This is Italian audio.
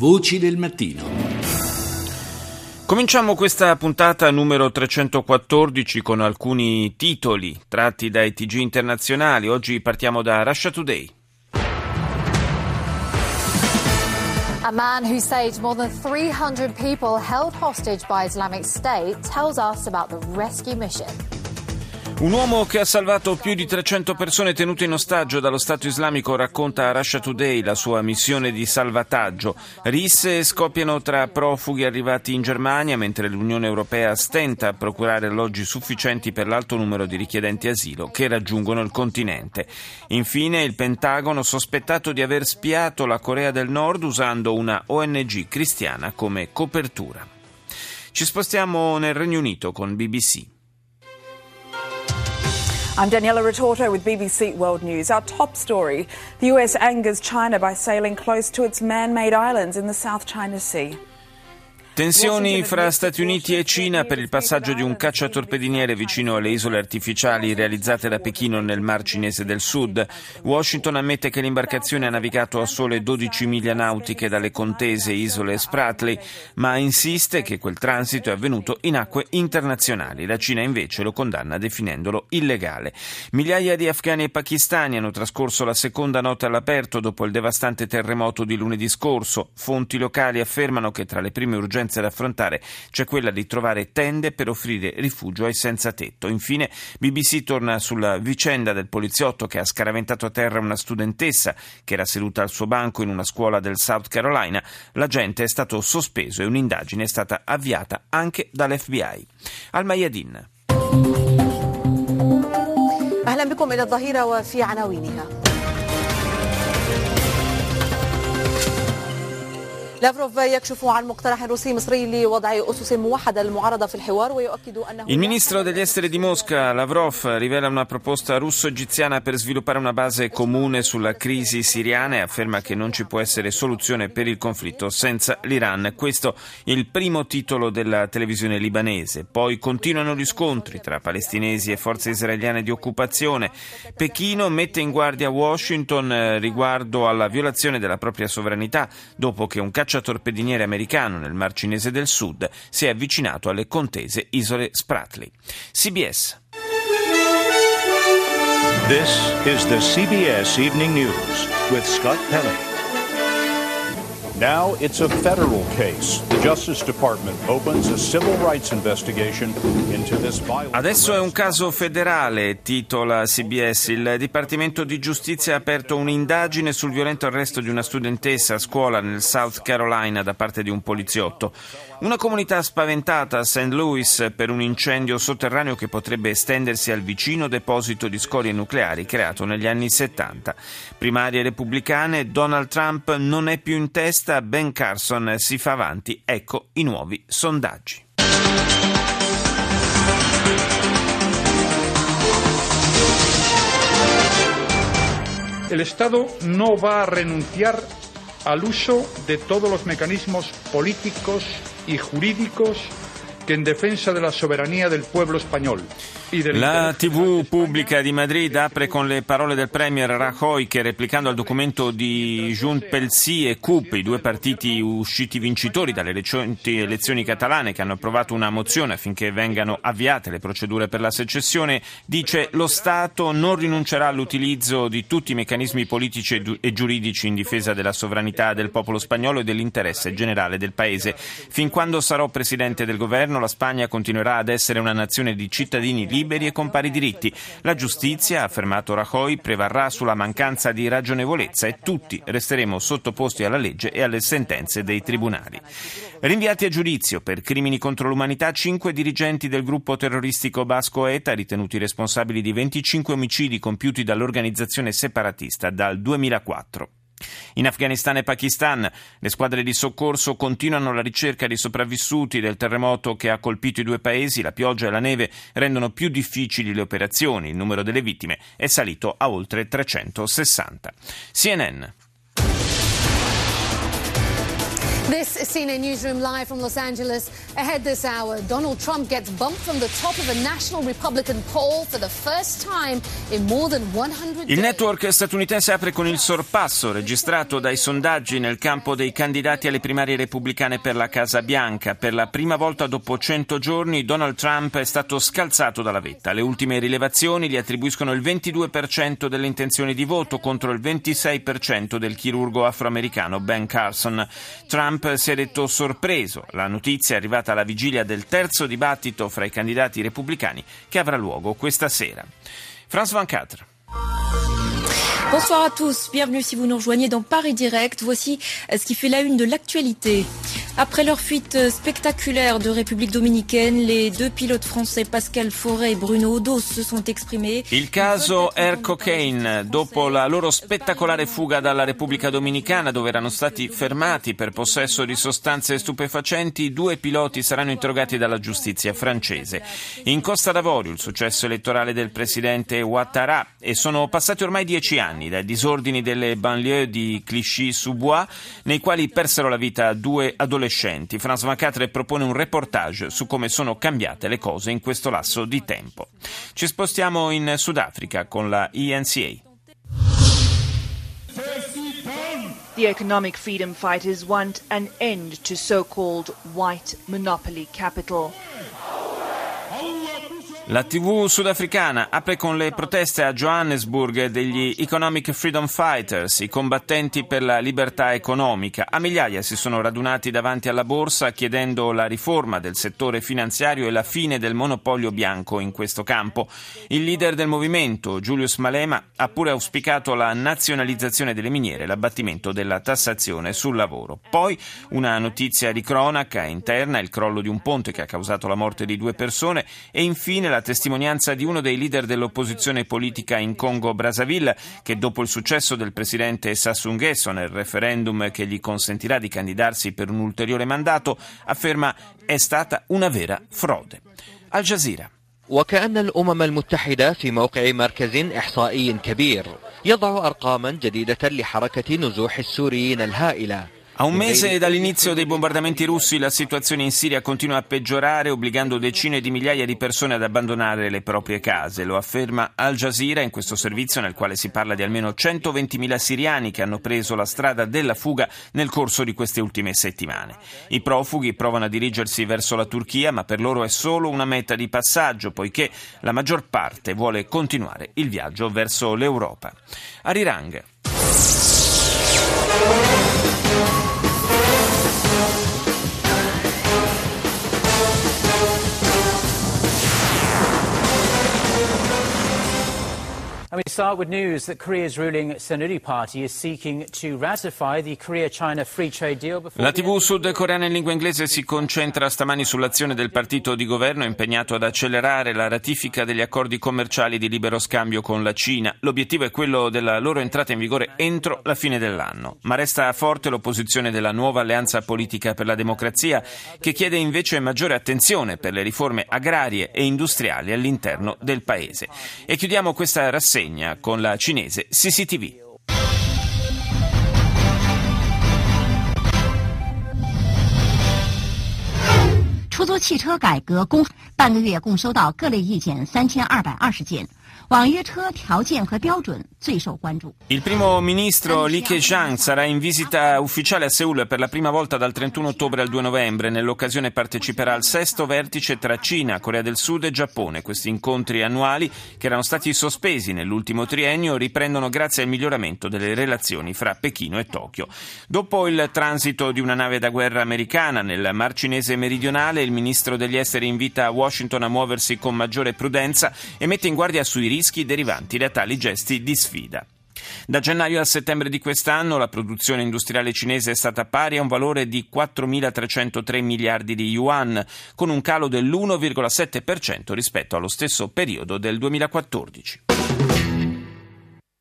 Voci del mattino. Cominciamo questa puntata numero 314 con alcuni titoli tratti dai TG internazionali. Oggi partiamo da Russia Today. A man who saved more than 300 people held hostage by Islamic State tells us about the rescue mission. Un uomo che ha salvato più di 300 persone tenute in ostaggio dallo Stato islamico racconta a Russia Today la sua missione di salvataggio. Risse scoppiano tra profughi arrivati in Germania, mentre l'Unione Europea stenta a procurare alloggi sufficienti per l'alto numero di richiedenti asilo che raggiungono il continente. Infine, il Pentagono sospettato di aver spiato la Corea del Nord usando una ONG cristiana come copertura. Ci spostiamo nel Regno Unito con BBC. I'm Daniela Retorto with BBC World News. Our top story, the US angers China by sailing close to its man-made islands in the South China Sea. Tensioni fra Stati Uniti e Cina per il passaggio di un cacciatorpediniere vicino alle isole artificiali realizzate da Pechino nel Mar Cinese del Sud. Washington ammette che l'imbarcazione ha navigato a sole 12 miglia nautiche dalle contese isole Spratly, ma insiste che quel transito è avvenuto in acque internazionali. La Cina invece lo condanna definendolo illegale. Migliaia di afghani e pakistani hanno trascorso la seconda notte all'aperto dopo il devastante terremoto di lunedì scorso. Fonti locali affermano che tra le prime urgenze da affrontare c'è quella di trovare tende per offrire rifugio ai senza tetto. Infine BBC torna sulla vicenda del poliziotto che ha scaraventato a terra una studentessa che era seduta al suo banco in una scuola del South Carolina. L'agente è stato sospeso e un'indagine è stata avviata anche dall'FBI. Al-Mayadin. أهلا بكم إلى الظهيرة وفي عناوينها. Il ministro degli esteri di Mosca, Lavrov, rivela una proposta russo-egiziana per sviluppare una base comune sulla crisi siriana e afferma che non ci può essere soluzione per il conflitto senza l'Iran. Questo è il primo titolo della televisione libanese. Poi continuano gli scontri tra palestinesi e forze israeliane di occupazione. Pechino mette in guardia Washington riguardo alla violazione della propria sovranità dopo che un cacciatorpediniere americano nel Mar Cinese del Sud si è avvicinato alle contese isole Spratly. CBS. This is the CBS Evening News with Scott Pelley. Now it's a federal case. The Justice Department opens a civil rights investigation into this violent. Adesso è un caso federale, titola CBS. Il Dipartimento di Giustizia ha aperto un'indagine sul violento arresto di una studentessa a scuola nel South Carolina da parte di un poliziotto. Una comunità spaventata a St. Louis per un incendio sotterraneo che potrebbe estendersi al vicino deposito di scorie nucleari creato negli anni 70. Primarie repubblicane, Donald Trump non è più in testa, Ben Carson si fa avanti. Ecco i nuovi sondaggi. El Estado no va a renunciar al uso de todos los mecanismos políticos y jurídicos que en defensa de la soberanía del pueblo español. La TV pubblica di Madrid apre con le parole del premier Rajoy che, replicando al documento di Junts pel Sí e CUP, i due partiti usciti vincitori dalle recenti elezioni catalane che hanno approvato una mozione affinché vengano avviate le procedure per la secessione, dice: lo Stato non rinuncerà all'utilizzo di tutti i meccanismi politici e giuridici in difesa della sovranità del popolo spagnolo e dell'interesse generale del paese. Fin quando sarò presidente del governo, la Spagna continuerà ad essere una nazione di cittadini liberi e con pari diritti. La giustizia, ha affermato Rajoy, prevarrà sulla mancanza di ragionevolezza e tutti resteremo sottoposti alla legge e alle sentenze dei tribunali. Rinviati a giudizio per crimini contro l'umanità 5 dirigenti del gruppo terroristico basco ETA, ritenuti responsabili di 25 omicidi compiuti dall'organizzazione separatista dal 2004. In Afghanistan e Pakistan le squadre di soccorso continuano la ricerca di sopravvissuti del terremoto che ha colpito i due paesi. La pioggia e la neve rendono più difficili le operazioni. Il numero delle vittime è salito a oltre 360. CNN. This is CNN Newsroom live from Los Angeles. Ahead this hour, Donald Trump gets bumped from the top of a national Republican poll for the first time in more than 100 days. Il network statunitense apre con il sorpasso registrato dai sondaggi nel campo dei candidati alle primarie repubblicane per la Casa Bianca. Per la prima volta dopo 100 giorni Donald Trump è stato scalzato dalla vetta. Le ultime rilevazioni gli attribuiscono il 22% delle intenzioni di voto contro il 26% del chirurgo afroamericano Ben Carson. Trump si è detto sorpreso. La notizia è arrivata alla vigilia del terzo dibattito fra i candidati repubblicani che avrà luogo questa sera. France 24. Bonsoir à tous, bienvenue si vous nous rejoignez dans Paris Direct. Voici ce qui fait la une de l'actualité. Après leur fuite spectaculaire de République dominicaine, les deux pilotes français Pascal Forêt et Bruno Odos se sont exprimés. Il caso Air Cocaine, dopo la loro spettacolare fuga dalla Repubblica Dominicana, dove erano stati fermati per possesso di sostanze stupefacenti, 2 piloti saranno interrogati dalla giustizia francese. In Costa d'Avorio il successo elettorale del presidente Ouattara, e sono passati ormai 10 anni dai disordini delle banlieue di Clichy-sous-Bois, nei quali persero la vita 2 adolescenti. France 24 propone un reportage su come sono cambiate le cose in questo lasso di tempo. Ci spostiamo in Sudafrica con la ENCA. The economic freedom fighters want an end to so-called white monopoly capital. La TV sudafricana apre con le proteste a Johannesburg degli Economic Freedom Fighters, i combattenti per la libertà economica. A migliaia si sono radunati davanti alla borsa chiedendo la riforma del settore finanziario e la fine del monopolio bianco in questo campo. Il leader del movimento, Julius Malema, ha pure auspicato la nazionalizzazione delle miniere e l'abbattimento della tassazione sul lavoro. Poi una notizia di cronaca interna, il crollo di un ponte che ha causato la morte di 2 persone, e infine la testimonianza di uno dei leader dell'opposizione politica in Congo-Brazzaville, che dopo il successo del presidente Sassou Nguesso nel referendum che gli consentirà di candidarsi per un ulteriore mandato, afferma è stata una vera frode. Al Jazeera. وكأن الأمم المتحدة في موقع مركز إحصائي كبير يضع أرقاما جديدة لحركة نزوح السوريين الهائلة. A un mese dall'inizio dei bombardamenti russi la situazione in Siria continua a peggiorare, obbligando decine di migliaia di persone ad abbandonare le proprie case. Lo afferma Al Jazeera in questo servizio, nel quale si parla di almeno 120.000 siriani che hanno preso la strada della fuga nel corso di queste ultime settimane. I profughi provano a dirigersi verso la Turchia, ma per loro è solo una meta di passaggio, poiché la maggior parte vuole continuare il viaggio verso l'Europa. Arirang. And we start with news that Korea's ruling Saenuri Party is seeking to ratify the Korea-China Free Trade Deal. La TV sudcoreana in lingua inglese si concentra stamani sull'azione del partito di governo impegnato ad accelerare la ratifica degli accordi commerciali di libero scambio con la Cina. L'obiettivo è quello della loro entrata in vigore entro la fine dell'anno. Ma resta forte l'opposizione della nuova alleanza politica per la democrazia, che chiede invece maggiore attenzione per le riforme agrarie e industriali all'interno del paese. E chiudiamo questa rassegna con la cinese CCTV. 出租汽车改革半个月共收到各类意见3220件。网约车条件和标准最受关注。 Il primo ministro Li Keqiang sarà in visita ufficiale a Seul per la prima volta dal 31 ottobre al 2 novembre. Nell'occasione parteciperà al 6º vertice tra Cina, Corea del Sud e Giappone. Questi incontri annuali, che erano stati sospesi nell'ultimo triennio, riprendono grazie al miglioramento delle relazioni fra Pechino e Tokyo. Dopo il transito di una nave da guerra americana nel Mar Cinese meridionale, il ministro degli esteri invita Washington a muoversi con maggiore prudenza e mette in guardia sui rischi derivanti da tali gesti di sfida. Da gennaio a settembre di quest'anno la produzione industriale cinese è stata pari a un valore di 4.303 miliardi di yuan, con un calo dell'1,7% rispetto allo stesso periodo del 2014.